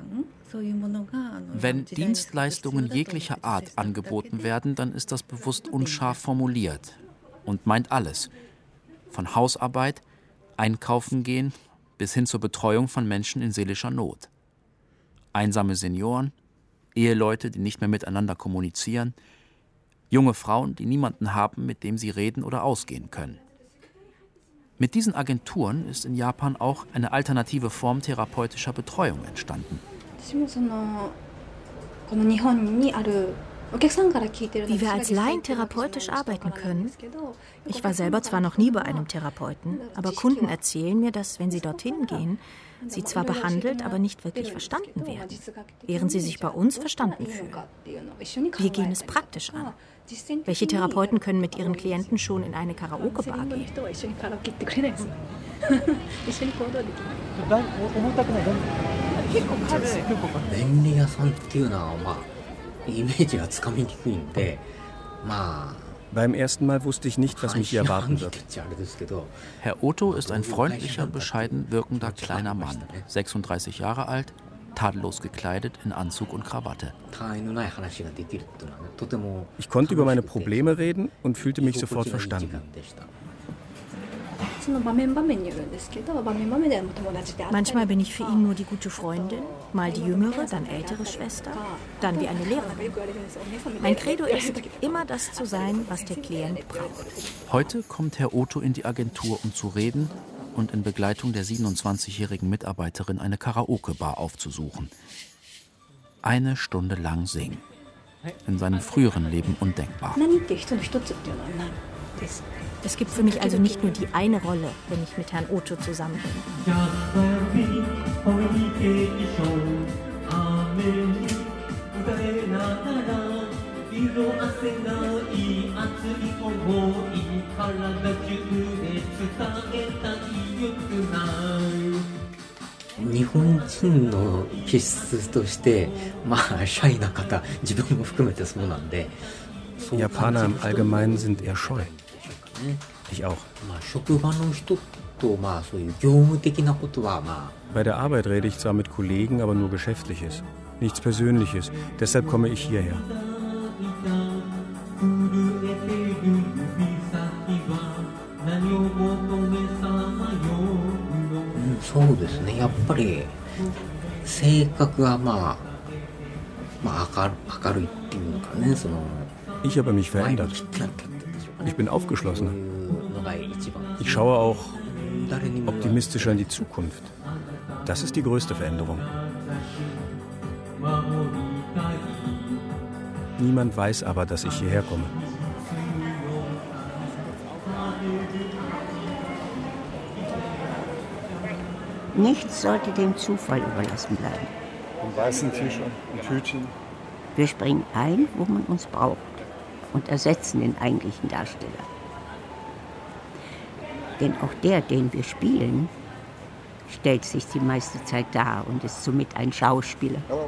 Wenn Dienstleistungen jeglicher Art angeboten werden, dann ist das bewusst unscharf formuliert und meint alles. Von Hausarbeit, Einkaufen gehen, bis hin zur Betreuung von Menschen in seelischer Not. Einsame Senioren, Eheleute, die nicht mehr miteinander kommunizieren, junge Frauen, die niemanden haben, mit dem sie reden oder ausgehen können. Mit diesen Agenturen ist in Japan auch eine alternative Form therapeutischer Betreuung entstanden. Wie wir als Laien therapeutisch arbeiten können? Ich war selber zwar noch nie bei einem Therapeuten, aber Kunden erzählen mir, dass, wenn sie dorthin gehen, sie zwar behandelt, aber nicht wirklich verstanden werden, während sie sich bei uns verstanden fühlen. Wir gehen es praktisch an. Welche Therapeuten können mit ihren Klienten schon in eine Karaoke-Bar gehen? Beim ersten Mal wusste ich nicht, was mich hier erwarten wird. Herr Otto ist ein freundlicher, bescheiden wirkender kleiner Mann, sechsunddreißig Jahre alt, tadellos gekleidet in Anzug und Krawatte. Ich konnte über meine Probleme reden und fühlte mich sofort verstanden. Manchmal bin ich für ihn nur die gute Freundin, mal die jüngere, dann ältere Schwester, dann wie eine Lehrerin. Mein Credo ist, immer das zu sein, was der Klient braucht. Heute kommt Herr Otto in die Agentur, um zu reden und in Begleitung der siebenundzwanzigjährigen Mitarbeiterin eine Karaoke-Bar aufzusuchen. Eine Stunde lang singen. In seinem früheren Leben undenkbar. Es gibt für mich also nicht nur die eine Rolle, wenn ich mit Herrn Otto zusammen bin. Japaner im Allgemeinen sind eher scheu. Ich auch. Bei der Arbeit rede ich zwar mit Kollegen, aber nur Geschäftliches. Nichts Persönliches. Deshalb komme ich hierher. Ich habe mich verändert. Ich bin aufgeschlossener. Ich schaue auch optimistischer in die Zukunft. Das ist die größte Veränderung. Niemand weiß aber, dass ich hierher komme. Nichts sollte dem Zufall überlassen bleiben. Einen weißen T-Shirt, ein Tütchen. Wir springen ein, wo man uns braucht und ersetzen den eigentlichen Darsteller. Denn auch der, den wir spielen, stellt sich die meiste Zeit dar und ist somit ein Schauspieler. Hallo.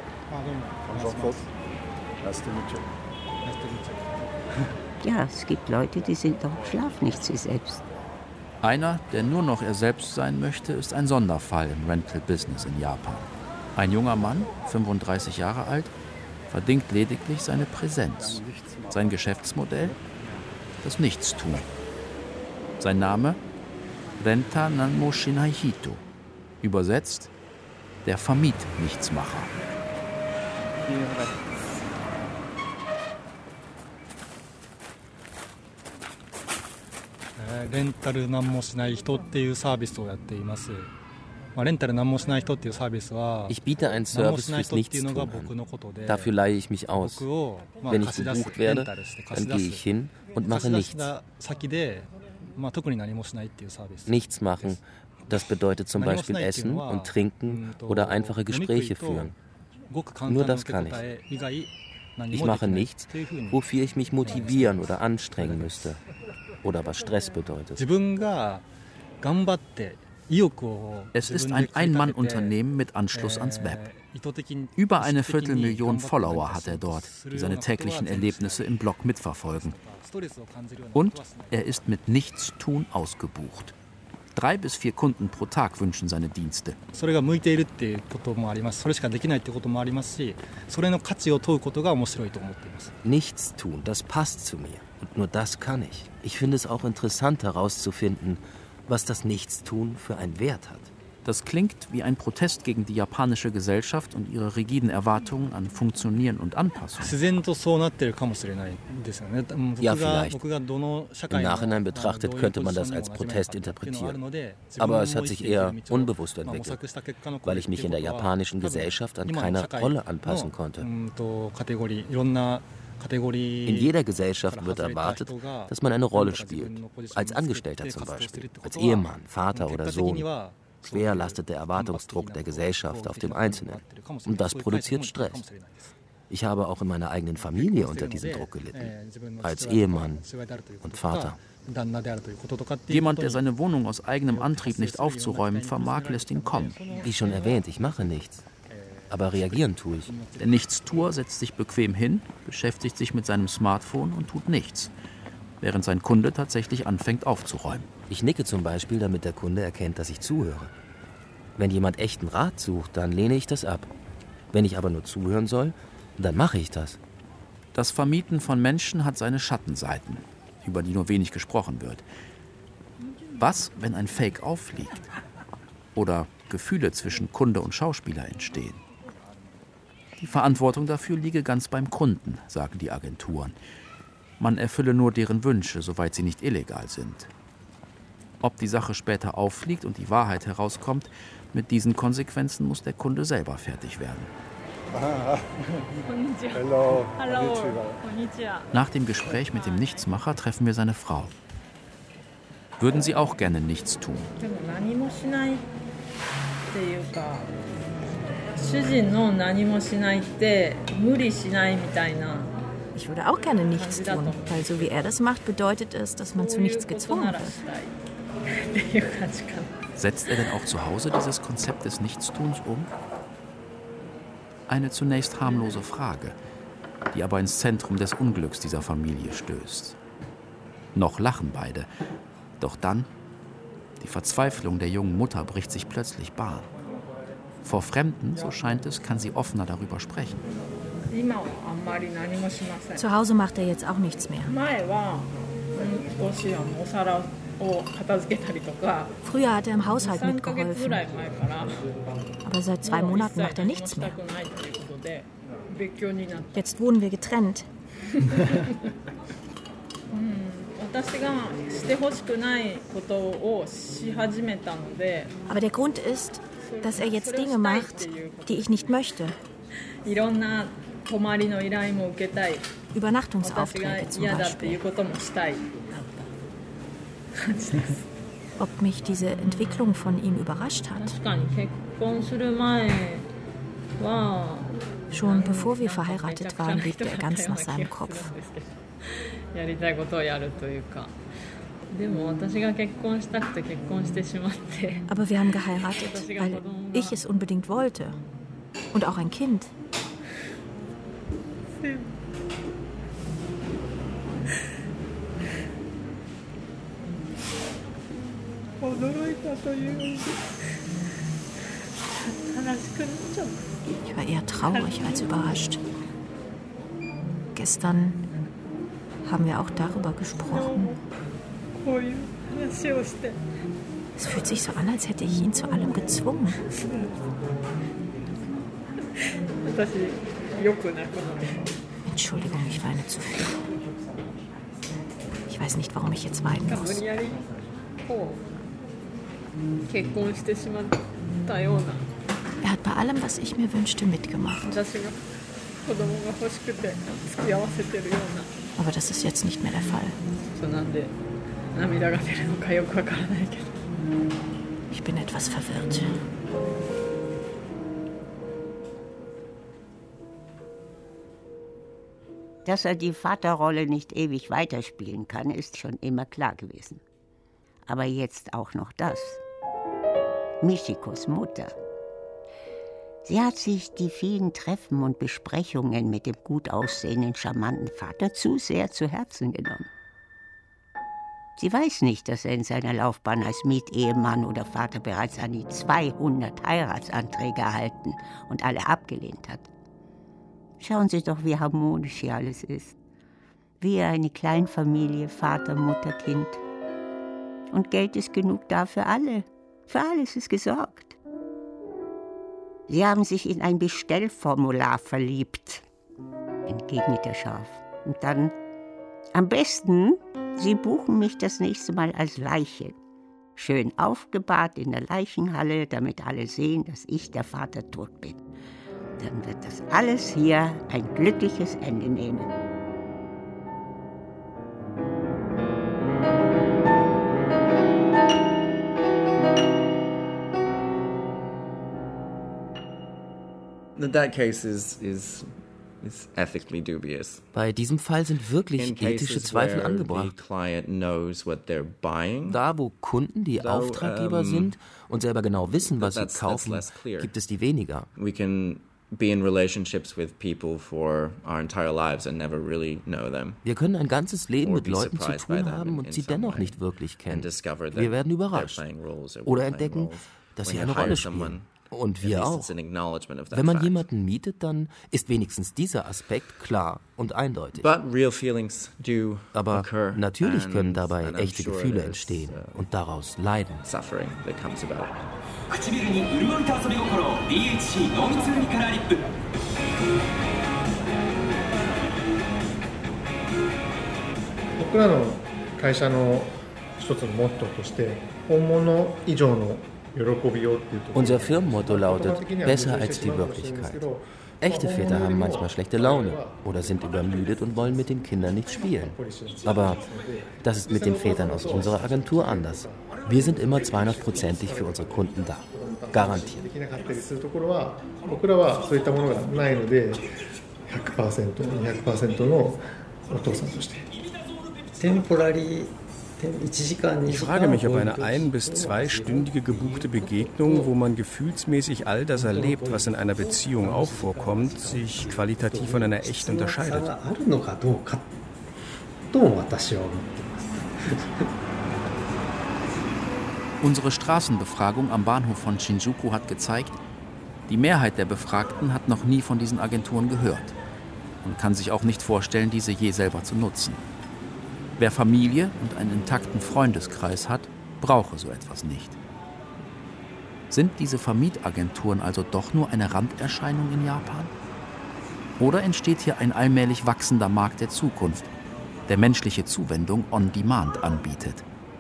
Ja, es gibt Leute, die sind doch im Schlaf nicht sie selbst. Einer, der nur noch er selbst sein möchte, ist ein Sonderfall im Rental-Business in Japan. Ein junger Mann, fünfunddreißig Jahre alt, verdingt lediglich seine Präsenz. Sein Geschäftsmodell? Das Nichtstun. Sein Name? Renta Nanmo Shinai Hito. Übersetzt: der Vermiet-Nichtsmacher. Rental Nanmo Shinai Hito っていうサービスをやっています。 Ich biete einen Service fürs Nichtstun an. Dafür leihe ich mich aus. Wenn ich gebucht werde, dann gehe ich hin und mache nichts. Nichts machen, das bedeutet zum Beispiel essen und trinken oder einfache Gespräche führen. Nur das kann ich. Ich mache nichts, wofür ich mich motivieren oder anstrengen müsste. Oder was Stress bedeutet. Es ist ein Ein-Mann-Unternehmen mit Anschluss ans Web. Über eine Viertelmillion Follower hat er dort, die seine täglichen Erlebnisse im Blog mitverfolgen. Und er ist mit Nichtstun ausgebucht. Drei bis vier Kunden pro Tag wünschen seine Dienste. Nichtstun, das passt zu mir. Und nur das kann ich. Ich finde es auch interessant herauszufinden, was das Nichtstun für einen Wert hat. Das klingt wie ein Protest gegen die japanische Gesellschaft und ihre rigiden Erwartungen an Funktionieren und Anpassung. Ja, vielleicht. Im Nachhinein betrachtet könnte man das als Protest interpretieren. Aber es hat sich eher unbewusst entwickelt, weil ich mich in der japanischen Gesellschaft an keine Rolle anpassen konnte. In jeder Gesellschaft wird erwartet, dass man eine Rolle spielt. Als Angestellter zum Beispiel, als Ehemann, Vater oder Sohn. Schwer lastet der Erwartungsdruck der Gesellschaft auf dem Einzelnen. Und das produziert Stress. Ich habe auch in meiner eigenen Familie unter diesem Druck gelitten. Als Ehemann und Vater. Jemand, der seine Wohnung aus eigenem Antrieb nicht aufzuräumen vermag, lässt ihn kommen. Wie schon erwähnt, ich mache nichts. Aber reagieren tue ich. Der Nichtstuer setzt sich bequem hin, beschäftigt sich mit seinem Smartphone und tut nichts, während sein Kunde tatsächlich anfängt aufzuräumen. Ich nicke zum Beispiel, damit der Kunde erkennt, dass ich zuhöre. Wenn jemand echten Rat sucht, dann lehne ich das ab. Wenn ich aber nur zuhören soll, dann mache ich das. Das Vermieten von Menschen hat seine Schattenseiten, über die nur wenig gesprochen wird. Was, wenn ein Fake auffliegt? Oder Gefühle zwischen Kunde und Schauspieler entstehen? Die Verantwortung dafür liege ganz beim Kunden, sagen die Agenturen. Man erfülle nur deren Wünsche, soweit sie nicht illegal sind. Ob die Sache später auffliegt und die Wahrheit herauskommt, mit diesen Konsequenzen muss der Kunde selber fertig werden. Hello. Hallo. Nach dem Gespräch mit dem Nichtsmacher treffen wir seine Frau. Würden Sie auch gerne nichts tun? Ich würde auch gerne nichts tun, weil so wie er das macht, bedeutet es, dass man zu nichts gezwungen wird. Setzt er denn auch zu Hause dieses Konzept des Nichtstuns um? Eine zunächst harmlose Frage. die aber ins Zentrum des Unglücks dieser Familie stößt. Noch lachen beide, doch dann, die Verzweiflung der jungen Mutter bricht sich plötzlich Bahn. Vor Fremden, so scheint es, kann sie offener darüber sprechen. Zu Hause macht er jetzt auch nichts mehr. Früher hat er im Haushalt mitgeholfen. Aber seit zwei Monaten macht er nichts mehr. Jetzt wohnen wir getrennt. Aber der Grund ist, dass er jetzt Dinge macht, die ich nicht möchte. Übernachtungsaufträge zum Beispiel. Ob mich diese Entwicklung von ihm überrascht hat? Schon bevor wir verheiratet waren, lebte er ganz nach seinem Kopf. Aber wir haben geheiratet, weil ich es unbedingt wollte. Und auch ein Kind. Ich war eher traurig als überrascht. Gestern haben wir auch darüber gesprochen. Es fühlt sich so an, als hätte ich ihn zu allem gezwungen. Entschuldigung, ich weine zu viel. Ich weiß nicht, warum ich jetzt weinen muss. Er hat bei allem, was ich mir wünschte, mitgemacht. Aber das ist jetzt nicht mehr der Fall. Ich bin etwas verwirrt. Dass er die Vaterrolle nicht ewig weiterspielen kann, ist schon immer klar gewesen. Aber jetzt auch noch das. Michikos Mutter. Sie hat sich die vielen Treffen und Besprechungen mit dem gut aussehenden, charmanten Vater zu sehr zu Herzen genommen. Sie weiß nicht, dass er in seiner Laufbahn als Mietehemann oder Vater bereits an die zweihundert Heiratsanträge erhalten und alle abgelehnt hat. Schauen Sie doch, wie harmonisch hier alles ist. Wie eine Kleinfamilie, Vater, Mutter, Kind. Und Geld ist genug da für alle. Für alles ist gesorgt. Sie haben sich in ein Bestellformular verliebt, entgegnet er scharf. Und dann, am besten, Sie buchen mich das nächste Mal als Leiche. Schön aufgebahrt in der Leichenhalle, damit alle sehen, dass ich der Vater tot bin. Dann wird das alles hier ein glückliches Ende nehmen. That case is, is, is ethically dubious. Bei diesem Fall sind wirklich ethische Zweifel angebracht. Da, wo Kunden die Auftraggeber um, sind und selber genau wissen, was sie kaufen, gibt es die weniger. We can be in relationships with people for our entire lives and never really know them. Wir können ein ganzes Leben mit Leuten zu tun haben und sie dennoch nicht wirklich kennen. Wir werden überrascht oder entdecken, dass sie eine Rolle spielen. Und wir auch. Wenn man jemanden mietet, dann ist wenigstens dieser Aspekt klar und eindeutig. Aber natürlich können dabei echte Gefühle entstehen und daraus Leiden. Unser Firmenmotto lautet, besser als die Wirklichkeit. Echte Väter haben manchmal schlechte Laune oder sind übermüdet und wollen mit den Kindern nicht spielen. Aber das ist mit den Vätern aus unserer Agentur anders. Wir sind immer zweihundertprozentig für unsere Kunden da. Garantiert. Temporary Ich frage mich, ob eine ein- bis zweistündige gebuchte Begegnung, wo man gefühlsmäßig all das erlebt, was in einer Beziehung auch vorkommt, sich qualitativ von einer echten unterscheidet. Unsere Straßenbefragung am Bahnhof von Shinjuku hat gezeigt, die Mehrheit der Befragten hat noch nie von diesen Agenturen gehört und kann sich auch nicht vorstellen, diese je selber zu nutzen. Wer Familie und einen intakten Freundeskreis hat, brauche so etwas nicht. Sind diese Vermietagenturen also doch nur eine Randerscheinung in Japan? Oder entsteht hier ein allmählich wachsender Markt der Zukunft, der menschliche Zuwendung on demand anbietet?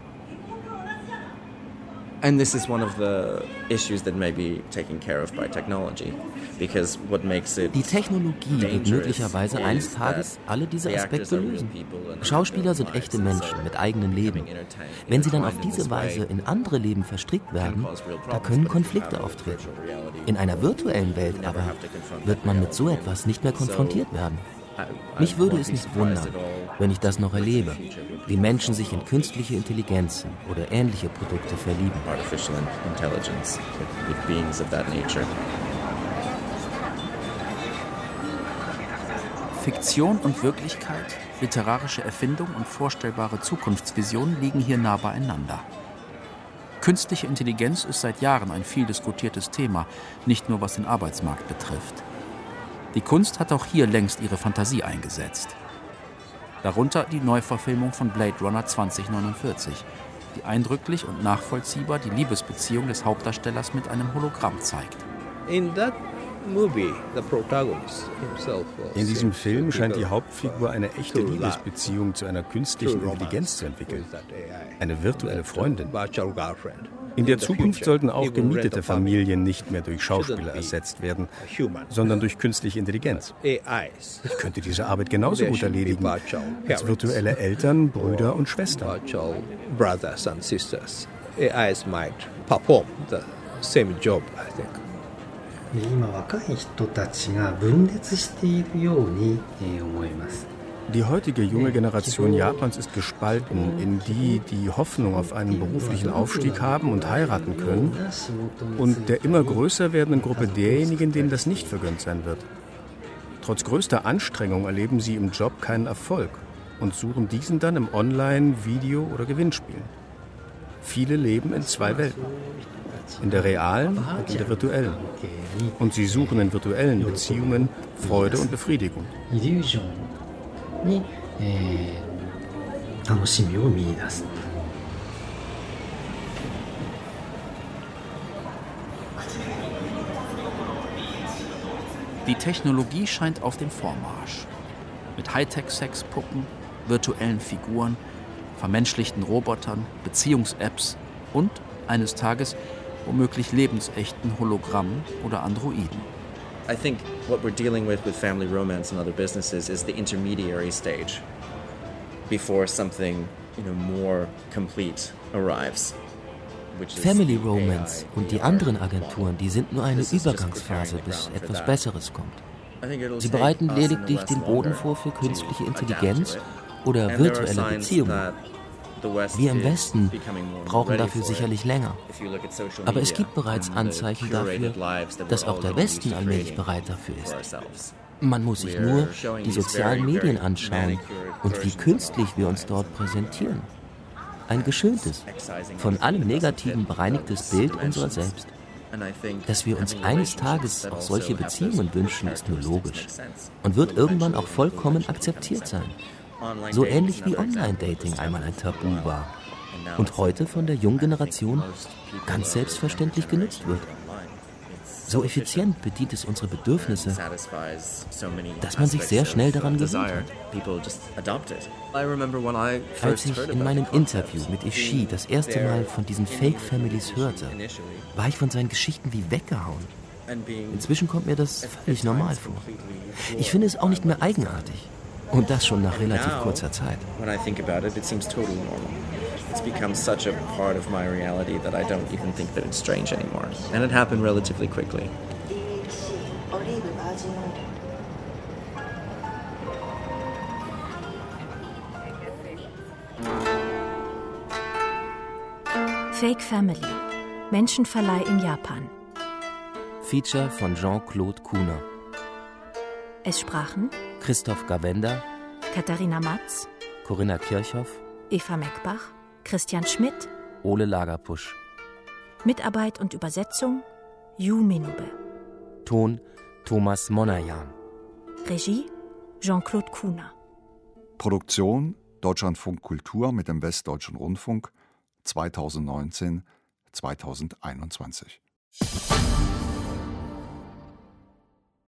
And this is one of the issues that may be taken care of by technology, because what makes it Die Technologie wird möglicherweise eines Tages alle diese Aspekte lösen. Schauspieler sind echte Menschen mit eigenem Leben. Wenn sie dann auf diese Weise in andere Leben verstrickt werden, da können Konflikte auftreten. In einer virtuellen Welt aber wird man mit so etwas nicht mehr konfrontiert werden. Mich würde es nicht wundern, wenn ich das noch erlebe, wie Menschen sich in künstliche Intelligenzen oder ähnliche Produkte verlieben. Artificial intelligence with beings of that nature. Fiktion und Wirklichkeit, literarische Erfindung und vorstellbare Zukunftsvisionen liegen hier nah beieinander. Künstliche Intelligenz ist seit Jahren ein viel diskutiertes Thema, nicht nur was den Arbeitsmarkt betrifft. Die Kunst hat auch hier längst ihre Fantasie eingesetzt. Darunter die Neuverfilmung von Blade Runner zwanzig neunundvierzig, die eindrücklich und nachvollziehbar die Liebesbeziehung des Hauptdarstellers mit einem Hologramm zeigt. In that movie, the protagonist himself was In diesem Film scheint die Hauptfigur eine echte Liebesbeziehung zu einer künstlichen Intelligenz zu entwickeln. Eine virtuelle Freundin. In der Zukunft sollten auch gemietete Familien nicht mehr durch Schauspieler ersetzt werden, sondern durch künstliche Intelligenz. Ich könnte diese Arbeit genauso gut erledigen als virtuelle Eltern, Brüder und Schwestern. Brothers and sisters. A Is might perform the same job, I think. 今若い人たちが分裂しているように思います。 Die heutige junge Generation Japans ist gespalten in die, die Hoffnung auf einen beruflichen Aufstieg haben und heiraten können, und der immer größer werdenden Gruppe derjenigen, denen das nicht vergönnt sein wird. Trotz größter Anstrengung erleben sie im Job keinen Erfolg und suchen diesen dann im Online-, Video- oder Gewinnspielen. Viele leben in zwei Welten, in der realen und in der virtuellen. Und sie suchen in virtuellen Beziehungen Freude und Befriedigung. に、えー、楽しみを見出す。 Die Technologie scheint auf dem Vormarsch. Mit Hightech-Sexpuppen, virtuellen Figuren, vermenschlichten Robotern, Beziehungs-Apps und eines Tages womöglich lebensechten Hologrammen oder Androiden. I think what we're dealing with with family romance and other businesses is the intermediary stage before something, you know, more complete arrives. Family Romance und die anderen Agenturen, die sind nur eine Übergangsphase, bis etwas Besseres kommt. Sie bereiten lediglich den Boden vor für künstliche Intelligenz oder virtuelle Beziehungen. Wir im Westen brauchen dafür sicherlich länger. Aber es gibt bereits Anzeichen dafür, dass auch der Westen allmählich bereit dafür ist. Man muss sich nur die sozialen Medien anschauen und wie künstlich wir uns dort präsentieren. Ein geschöntes, von allem Negativen bereinigtes Bild unserer selbst. Dass wir uns eines Tages auch solche Beziehungen wünschen, ist nur logisch und wird irgendwann auch vollkommen akzeptiert sein. So ähnlich wie Online-Dating einmal ein Tabu war und heute von der jungen Generation ganz selbstverständlich genutzt wird. So effizient bedient es unsere Bedürfnisse, dass man sich sehr schnell daran gewöhnt hat. Als ich in meinem Interview mit Ishii das erste Mal von diesen Fake-Families hörte, war ich von seinen Geschichten wie weggehauen. Inzwischen kommt mir das völlig normal vor. Ich finde es auch nicht mehr eigenartig. Und das schon nach relativ kurzer Zeit. When I think about it, it seems totally normal. It's become such a part of my reality that I don't even think that it's strange anymore. And it happened relatively quickly. Fake Family. Menschenverleih in Japan. Feature von Jean-Claude Kuhner. Es sprachen Christoph Gawenda, Katharina Matz, Corinna Kirchhoff, Eva Meckbach, Christian Schmidt, Ole Lagerpusch. Mitarbeit und Übersetzung Yu Minube. Ton Thomas Monajan. Regie Jean-Claude Kuhner. Produktion Deutschlandfunk Kultur mit dem Westdeutschen Rundfunk zweitausendneunzehn bis zweitausendeinundzwanzig.